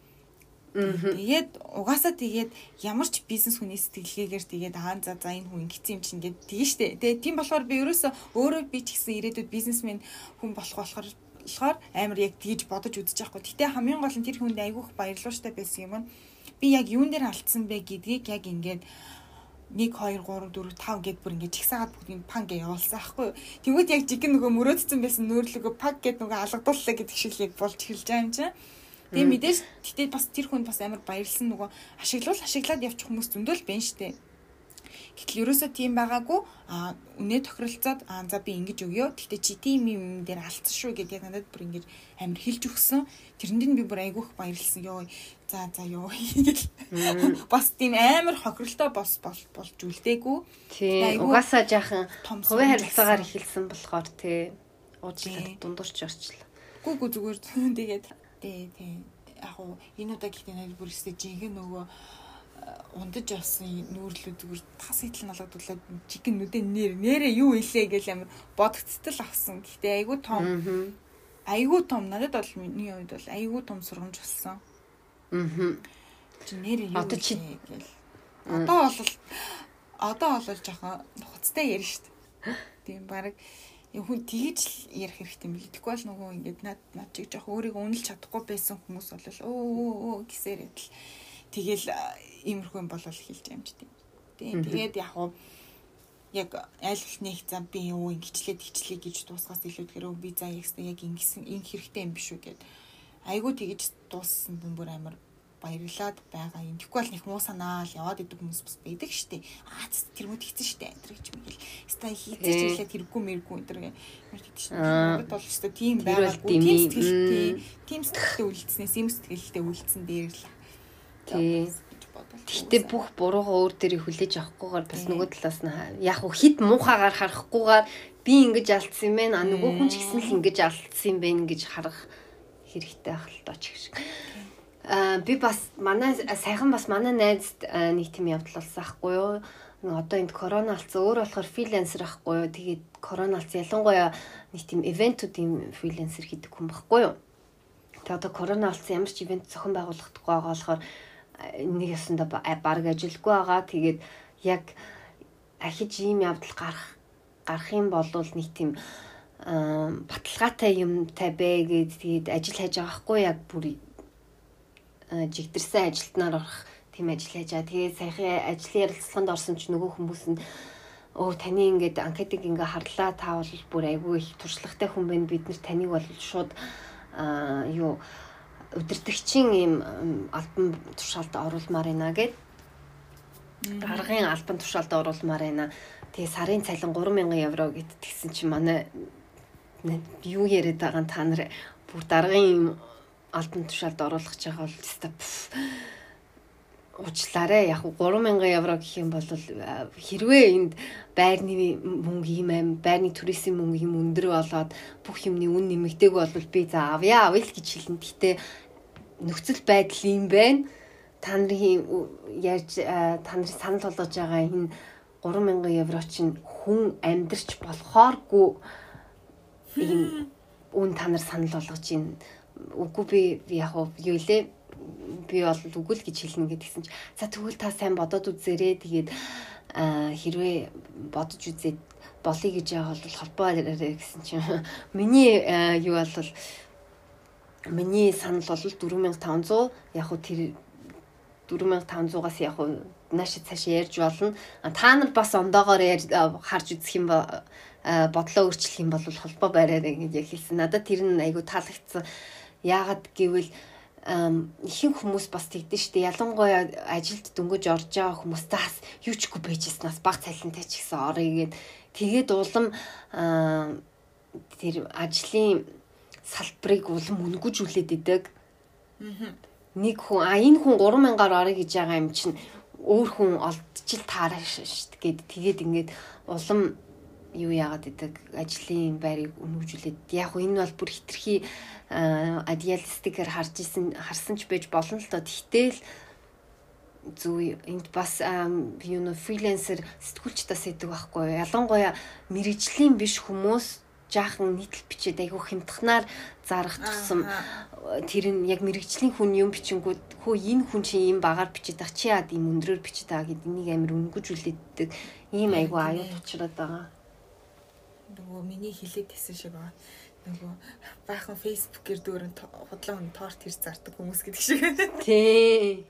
Тэгээд угаасаа тэгээд ямар ч бизнес хүний сэтгэлгээгээр тэгээд аа за за энэ хүн ингэсэн юм чинь ингээд тийм штэ. Тэгээд тийм болохоор би ерөөсөө өөрөө би ч гэсэн ирээдүйд бизнесмен хүн болох болохоор болохоор амар яг тэгж бодож үзэж байхгүй. Гэтэ хамгийн гол нь тэр хүнд айгүйх баярлууштай байсан юм. Би яг юун дээр алдсан бэ гэдгийг яг ингээд нэг хоёр гурав дөрөв тав гэд бүр ингээд чигсаагаад бүгдийг пан гэ явуулсан аахгүй. Тэгвэл яг жиг нөгөө мөрөөдсөн байсан нөөрлөгөө пак гэд нөгөө алгадууллаа гэдэг шиг яг болж эхэлж байгаа юм чинь. Тэгээ мэдээж тэгтээ бас тэр хүнд бас амар баярлсан нөгөө ашиглуул ашиглаад явчих хүмүүс зөндөл байна штэ. Гэтэл ерөөсөө тийм байгаагүй а үнэ тохиролцоод а за би ингэж өгөө. Тэгтээ чи тийм юм дээр алдсан шүү гэдээ надад бүр ингэж амар хэлж өгсөн. Тэрэнд нь би бүр айгүйх баярлсан ёо. За за ёо гэж. Бас тийм амар хохиролтой бос болж үлдээгүй. Тийм угаасаа жаахан хувийн харилцаагаар эхэлсэн болохоор тий уучлаарай дундуурч орчлоо. Гүгүү зүгээр тэгээд тий тий яг уу энэ удаа гэхдээ надад бүр өстэй жинхэнэ нөгөө ундаж явсан нүүрлүүд зүгээр тас хитл налгадуулаад чикен нүдэн нэр нэрээ юу илээ гэж амар бодогцтол авсан. Гэхдээ айгүй том айгүй том надад бол миний хувьд бол айгүй том сургамж болсон. Аа. Чи нэрээ юу одоо чи гэл. Одоо бол одоо бол жоохон хуцтай ярина шүү дээ. Тийм баг хүн тэгж ярих хэрэгтэй юм билээ. Тэгвэл нөгөө ингээд над над чиг жоох өөрийгөө үнэлж чадахгүй байсан хүмүүс бол өө өө гэсээр идэл тэгэл иймэрхүү юм болол хэлж амжтай. Тийм тэгээд яг уу яг аль нэг зам би юу ингэчлээ тэгчлээ гэж дуусгаас илүүдэхээр би за ягстай яг ингэсэн энэ хэрэгтэй юм биш үү гэд айгуу тэгж дууссан бүр амар баярлаад байгаа юм. Тэгэхгүй бол их муу санаал яваад идэг хүмүүс бас байдаг штэ. Аа тэр мөд хийцэн штэ энэ гэж мэгэл. Ста хийцэж ирлээ тэргүй мэргүй энэ гэж тэгдэг штэ. Надад бол штэ тийм байгаагүй тийм сэтгэлтэй тийм сэтгэлтэй үлдснээс юм сэтгэлтэй үлдсэн дээр л. Тий. Гэтэ бүх буруугаа өөр дээрээ хүлээж авахгүйгээр бас нөгөө талаас нь яг хуу хит муухагаар харахгүйгээр би ингэж алдсан юм байна. А нөгөө хүн ч гэсэн л ингэж алдсан юм байна гэж харах хэрэгтэй ах л дооч гэж. Аа би бас манай сайхан бас манай найзд нэг тийм явдал болсон ахгүй юу. Одоо энд корона алдсан өөр болохоор фрилансер ахгүй юу. Тэгээд корона алдсан ялангуяа нэг тийм ивентүүдийн фрилансер хийдэг хүн байхгүй юу. Тэгээд одоо корона алдсан ямар ч ивент зохион байгуулахдаггүй байгаа болохоор нэг ясанда баг ажилгүй байгаа. Тэгээд яг ахиж ийм явдал гарах гарах юм бол нэг тийм баталгаатай юмтай бэ гэд тэгээд ажил хайж байгаа хгүй яг бүр жигдэрсэн ажилтнаар орох тийм ажил хайж байгаа. Тэгээд саяхан ажлын ярилцлаганд орсон ч нөгөө хүмүүс нь өө таны ингээд анкетыг ингээ харлаа та бол бүр айгүй их туршлагатай хүн байна. Бид нар таныг бол шууд аа юу өдөртөгчийн ийм албан тушаалд оруулмаар байна гэд гаргын албан тушаалд оруулмаар байна. Тэгээ сарын цалин гурван мянган евро гэд тэгсэн чинь манай юу яриад байгаа та нар бүр даргын албан тушаалд оруулах гэж байгаа бол тест уучлаарай яг гурван мянган евро гэх юм бол хэрвээ энд байрны мөнгө юм аим байрны туризм мөнгө юм өндөр болоод бүх юмны үн нэмэгдээг бол би за авъя авъя л гэж хэлнэ. Гэхдээ нөхцөл байдал юм байна. Та нарын ярьж та нарын санал болгож байгаа энэ гурван мянган евро чинь хүн амьдрч болохооргүй ийм үн та нар санал болгож байна. Үгүй би яг юу илээ би бол үгүй л гэж хэлнэ гэдгсэн чи за тэгвэл та сайн бодоод үзээрэй. Тэгээд хэрвээ бодож үзээд болъё гэж байгаа бол холбоо арай гэсэн чинь миний юу бол миний санал бол дөрвөн мянга таван зуун яг хөө тэр дөрвөн мянга таван зуунаас яг хөө нааш цаашаа ярьж болно. Та нар бас ондоогоор харж үзэх юм ба бодлоо өөрчлөх юм бол холбоо бариарай гэж яг хэлсэн. Надад тэр нь айгу таалагдсан. Яагаад гэвэл ихэнх хүмүүс бас тэгдэж штэ ялангуяа ажилд дөнгөж орж байгаа хүмүүс тас юучгүй байжснаас баг цалинтай ч гэсэн орё гэд тэгээд улам тэр ажлын салбарыг улам өнгөжүүлээд идэг. Нэг хүн а энэ хүн гурван мянгаар орё гэж байгаа юм чинь өөр хүн олдчил таараш шүү дээ. Тэгээд ингээд улам юу яагаад идэг ажлын байрыг өнгөжүүлээд яг энэ бол бүр хитрхи идеалистикээр харж исэн харсан ч байж болно л доо. Тэгтэл зүй энд бас юу нэ фрилансер сэтгүүлч тас идэг байхгүй. Ялангуяа мэрэгжлийн биш хүмүүс жаахан нийтлэл бичээд айгүй хямдхнаар зарах тусам тэр нь яг мэрэгжлийн хүн юм бичингүүд хөө энэ хүн чинь ийм багаар бичээд байгаа чи яад ийм өндрөөр бичээд байгаа гэдэг энийг амар өнгөжүүлээддэг ийм айгүй аюул учраад байгаа. Нөгөө миний хилээд хэлсэн шиг байгаа. Нөгөө баахан фейсбүүкээр дөрөв худлаа хүн торт хэрэг зардаг хүмүүс гэдэг шиг. Тий.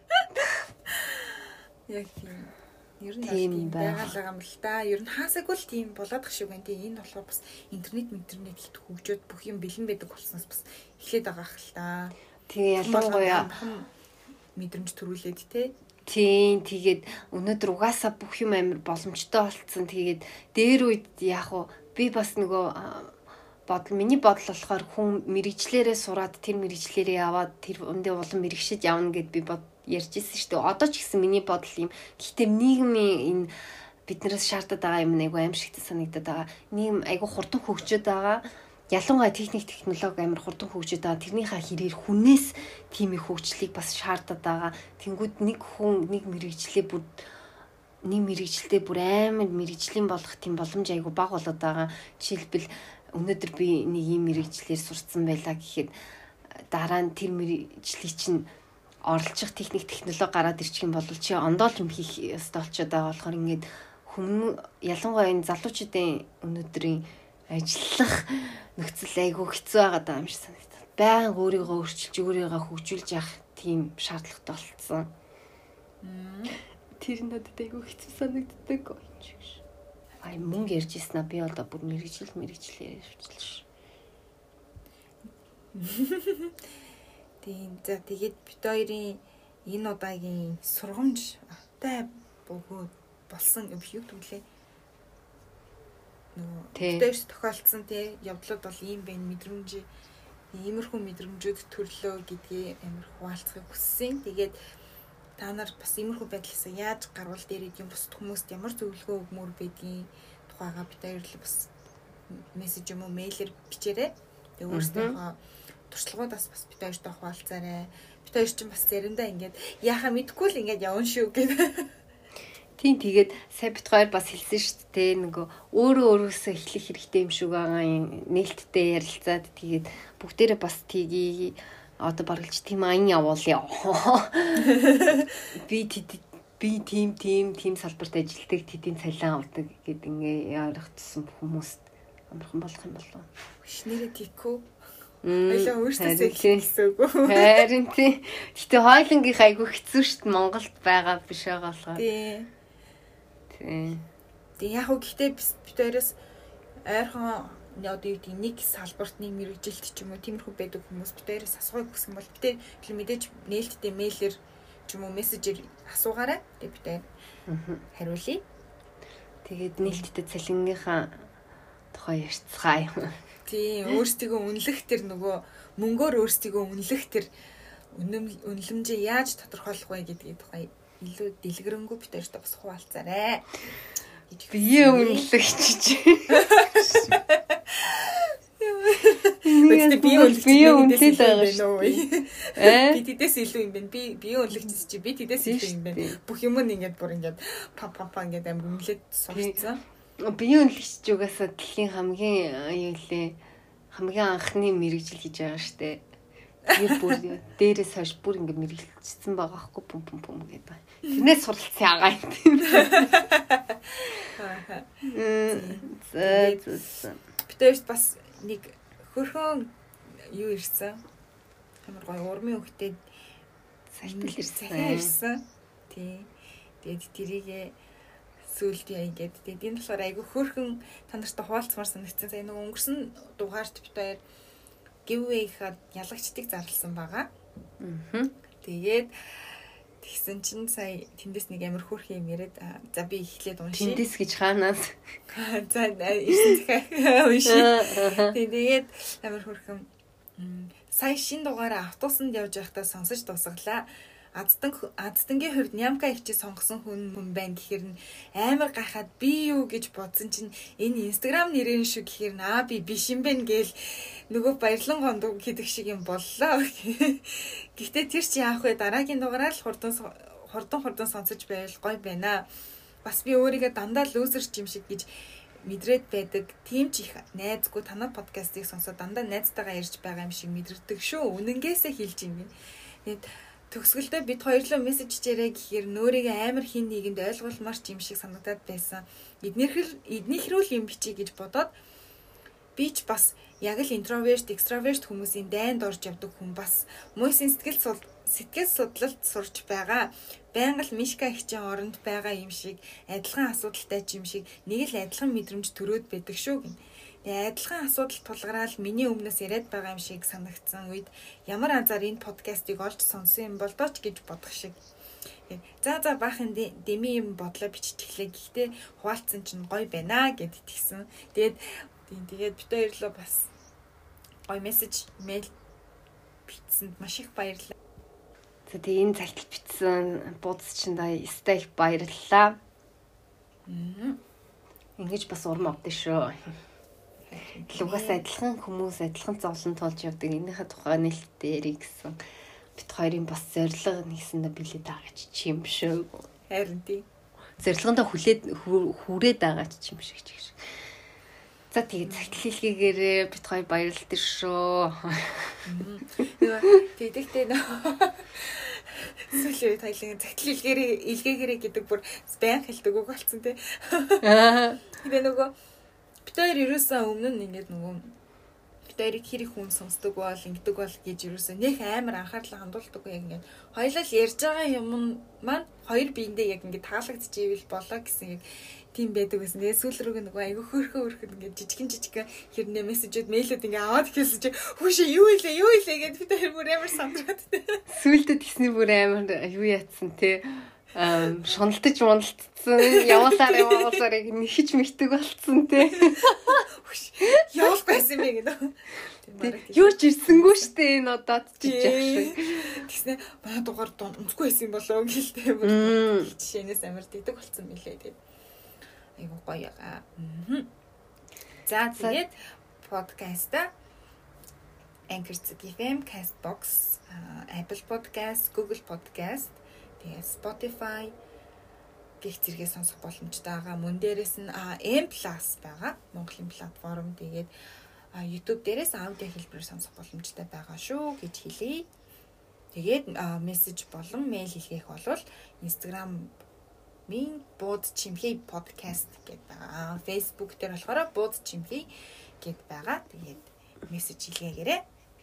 Яг тийм. Ер нь тийм байгаа л юм л да. Ер нь хаасаагүй л тийм болоод ах шиг байна. Тийм энэ болохоор бас интернет интернет ихт хөгжөөд бүх юм бэлэн байдаг болсноос бас эхлээд байгаа ах л да. Тэгээ ялангуяа мэдрэмж төрүүлээд те. Тийм тэгээд өнөөдөр угаасаа бүх юм амар боломжтой болцсон. Тэгээд дээр үед яг уу би бас нөгөө бодол миний бодол болохоор хүн мэрэгчлэрээ сураад тэр мэрэгчлэрээ яваад тэр өндөө улам мэрэгшиж явна гэд би бод ярьж ирсэн шүү дээ. Одоо ч гэсэн миний бодол юм. Гэхдээ нийгмийн энэ биднээс шаардаад байгаа юм айгу аимшигт санагдаад байгаа. Нийгэм айгу хурдан хөгжөөд байгаа. Ялангуяа техник технологи амар хурдан хөгжөөд байгаа. Тэрнийхээ хэрээр хүнээс тийм их хөгжлийг бас шаардаад байгаа. Тэнгүүд нэг хүн нэг мэрэгчлээ бүр нэг мэрэгчлээ бүр амар мэрэгжлийн болох тийм боломж айгу бага болоод байгаа. Жишээлбэл өнөөдөр би нэг юм мэрэгчлэр сурцсан байлаа гэхэд дараа нь тэр мэрэгжлийг чинь оролцох техник технологи гараад ирчих юм бол чи ондоолж юм хийх ёстой болчиход байгаа болохоор ингээд хүмүүс ялангуяа энэ залуучуудын өнөөдрийн ажиллах нөхцөл айгүй хэцүү байгаа юм шиг санагдав. Баян өөрийгөө өөрчилж өөрийгөө хөгжүүлж явах тийм шаардлагатай болцсон. Тэр надад айгүй хэцүү санагддаг. Ай мөнгө ярьж ирсэн аа би одоо бүр мэрэгжил мэрэгжил ярьж ш. Тийм за тэгээд бит хоёрын энэ удаагийн сургамж тай бөгөөд болсон юм юу гэвэл нөгөө дэвш тохиолдсон тий явдлууд бол ийм байна мэдрэмж иймэрхүү мэдрэмжүүд төрлөө гэдгийг амар хуваалцахыг хүссэн. Тэгээд та нар бас иймэрхүү байдлаас яаж гарвал дээр идэм бусд хүмүүст ямар зөвлөгөө өгмөр байдгийг тухайга бит хоёр л бас мессеж юм уу мэйлэр бичээрэй. Тэгээд өөрсдийнхөө туршлагуудаас бас бит хоёртой хуваалцаарай. Бит хоёр ч бас заримдаа ингээд яхаа мэдгүй л ингээд явна шүү гэдэг. Тийм тэгээд сая бит хоёр бас хэлсэн шүү дээ. Нөгөө өөрөө өөрөөсөө эхлэх хэрэгтэй юм шиг байгаа юм. Нээлттэй ярилцаад тэгээд бүгдээрээ бас тгий одоо баргалж тийм аян явуулъя. Би би тийм тийм тийм салбарт ажилладаг тэдийн цалин авдаг гэд ингээ ярих тусан хүмүүст амархан болох юм болов. Шинээрээ тийхүү. Хоёлаа өөрсдөө хэлсээгүү. Харин тий. Гэтэ хойлонгийнх айгүй хэцүү шít Монголд байгаа биш байгаа болохоор. Тий. Тий. Тэг яг уу гэхдээ бит хоёроос ойрхон одоо юу гэдэг нэг салбарт нэг мэрэгжилт ч юм уу тиймэрхүү байдаг хүмүүс бит хоёроос асуух гэсэн бол бит тэр мэдээж нээлттэй мэйлэр ч юм уу мессежээр асуугаарай. Тэг бит хоёр хариулъя. Тэгээд нээлттэй цалингийнхаа тухай ярьцгаая. Тийм өөрсдийгөө үнэлэх тэр нөгөө мөнгөөр өөрсдийгөө үнэлэх тэр үнэлэмжээ яаж тодорхойлох вэ гэдгийг тухай илүү дэлгэрэнгүй бит хоёртой бас хуваалцаарай. Бие үнэлэх чиж. Бид бие үнэлэх бие үнэлэл байгаа шүү. Э? Би тэдэс илүү юм байна. Би бие үнэлэх чи би тэдэс илүү юм байна. Бүх юм нь ингээд бүр ингээд пам пам пам ингээд амир үнэлээд сурцсан. Бие үнэлэгч угаасаа дэлхийн хамгийн юу лээ хамгийн анхны мэрэгжил гэж байгаа штэ. Тэгээд бүр дээрээс хойш бүр ингэ мэрэгжилсэн байгаа хгүй пум пум пум гэдэг. Тэрнээс суралцсан агаа юм. Зэ битээс бас нэг хөрхөн юу ирсэн. Амар гоё урмын хөхтэй сайтал ирсэн. Ирсэн. Тий. Тэгээд тэрийгээ сүлдээ ингээд тэгээд энэ болохоор айгүй хөрхөн та нартай хуваалцмаар санагдсан. За нэг өнгөрсөн дугаарт бит хоёр giveaway-хэд ялагчдыг зарласан байгаа. Аа. Тэгээд Тэгсэн чинь сая тэндээс нэг амар хөөрхөн юм яриад за би эхлээд уншия. Тэндээс гэж хаанаас? За ирсэн захаа уншия. Тэгээд амар хөөрхөн сая шин дугаараа автобусанд явж байхдаа сонсож дуусгалаа. Аздан аздангийн хувьд Нямка ичи сонгосон хүн хүн байна гэхээр нь амар гайхаад би юу гэж бодсон чинь энэ Instagram нэрэн шүү гэхээр наа би биш юм байна гээл нөгөө баярлан гондог гэдэг шиг юм боллоо. Гэхдээ тэр чи яах вэ? Дараагийн дугаараар л хурдан хурдан хурдан сонсож байвал гоё байна. Бас би өөрийгөө дандаа лүүзерч юм шиг гэж мэдрээд байдаг. Тийм ч их найзгүй танай подкастыг сонсоод дандаа найзтайгаа ярьж байгаа юм шиг мэдэрдэг шүү. Үнэнгээсээ хэлж юм би. Тэгээд төгсгөлдөө бид хоёрлоо мессеж чирээ гэхээр нөөрийгөө амар хин нэгэнд ойлгуулмарч юм шиг санагдаад байсан. Эднэрхэл эднийхрүүл юм бичиж гэж бодоод би ч бас яг л интроверт, экстраверт хүмүүсийн дайнд орж явдаг хүн бас мөсийн сэтгэл сэтгэл судлалд сурч байгаа. Байнга л Мишка хичээн оронд байгаа юм шиг адилхан асуудалтай ч юм шиг нэг л адилхан мэдрэмж төрөөд байдаг шүү гин. Тэгээ адилхан асуудал тулгараал миний өмнөөс яриад байгаа юм шиг санагдсан үед ямар анзаар энэ подкастыг олж сонсон юм бол дооч гэж бодох шиг. За за баахан дэми юм бодлоо биччихлээ. Гэхдээ хуваалцсан чинь гоё байна гэд итгэсэн. Тэгээд тэгээд бид хоёрлоо бас гоё мессеж мэйл бичсэнд маш их баярлалаа. За тэгээ энэ цагт бичсэн буудс чинь да стейк баярлалаа. Мм. Ингэж бас урам авдаа шүү. Лугас адилхан хүмүүс адилхан зовлон тулж явдаг. Энийхээ тухай нэлтээрий гэсэн бит хоёрын бас зорилго нэгсэндээ билээ даагаач юм шүү. Харин тий. Зорилгондоо хүлээд хүрээд байгаач юм шиг ч гэж. За тэгээ цагт хэлхийгээрээ бит хоёр баярлалтай шүү. Тэгэхдээ нөө сүлээ тайлан цагт хэлгээрээ илгээгээрээ гэдэг бүр байн хэлдэг үг болсон тий. Тэгээ нөгөө бид хоёр ерөөсөө өмнө нь ингээд нөгөө бид хоёрыг хэр их хүн сонсдог бол ингэдэг бол гэж ерөөсөө нэх амар анхаарлаа хандуулдаг яг ингээд хоёулаа л ярьж байгаа юм маань хоёр биендээ яг ингээд таалагдчихвэл болоо гэсэн яг тийм байдаг байсан. Тэгээ сүүл рүү нөгөө айгүй хөөрхөн хөөрхөн ингээд жижигэн жижигэн хэрнээ мессежүүд мэйлүүд ингээд аваад хэлсэн чи хүүшээ юу илээ юу илээ гэд бид хоёр бүр амар сандраад. Сүүлдээ тэсний бүр амар юу яатсан те ам шуналтаж мундалтсан яваасаар яваасаар яг нэхэж мэгдэг болцсон те. Явах байсан юм гэдэг. Юу ч ирсэнгүү штэ энэ удаад чиж яах шиг. Тэгснэ манай дугаар унцгүй байсан болоо гэлтэй бүр жишээнээс амар дэдэг болцсон мөлий тэгээд айгуу гоё яга. За тэгээд подкаста Anchor эф эм, Castbox, Apple Podcast, Google Podcast, тэгээд Spotify гэх зэрэгээ сонсох боломжтой байгаа. Мөн дээрээс нь M Plus байгаа. Монголын платформ. Тэгээд YouTube дээрээс аудио хэлбэрээр сонсох боломжтой байгаа шүү гэж хэлье. Тэгээд мессеж болон мэйл хийх бол Instagram минь бууд чимхий подкаст гэдэг байгаа. Facebook дээр болохоор бууд чимхий гэдэг байгаа. Тэгээд мессеж хийлгээгээрэй.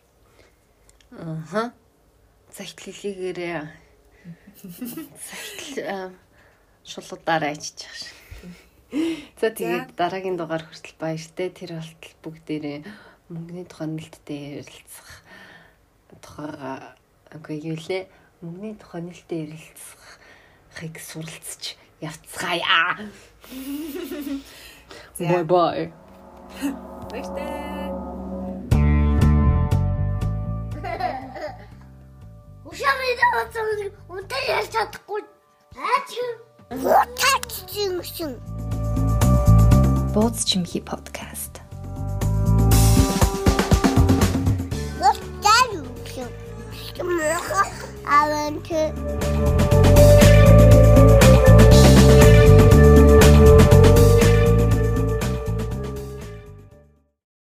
Аха. Цагт хэлхийгээрээ. Цагт шулуудаараа ичиж байгаа шиг. За тэгээд дараагийн дугаар хүртэл баяртай. Тэр болтол бүгдээрээ мөнгөний тухай нэлттэй ярилцах тухайга үгүй юу лээ. Мөнгөний тухай нэлттэй ярилцахыг суралцж явцгаая. Bye bye. Баяртай. Ушамын унтаа ярьж чадахгүй. Аач. Утаач чинь. Бууз чимхий подкаст. What are you doing? I want to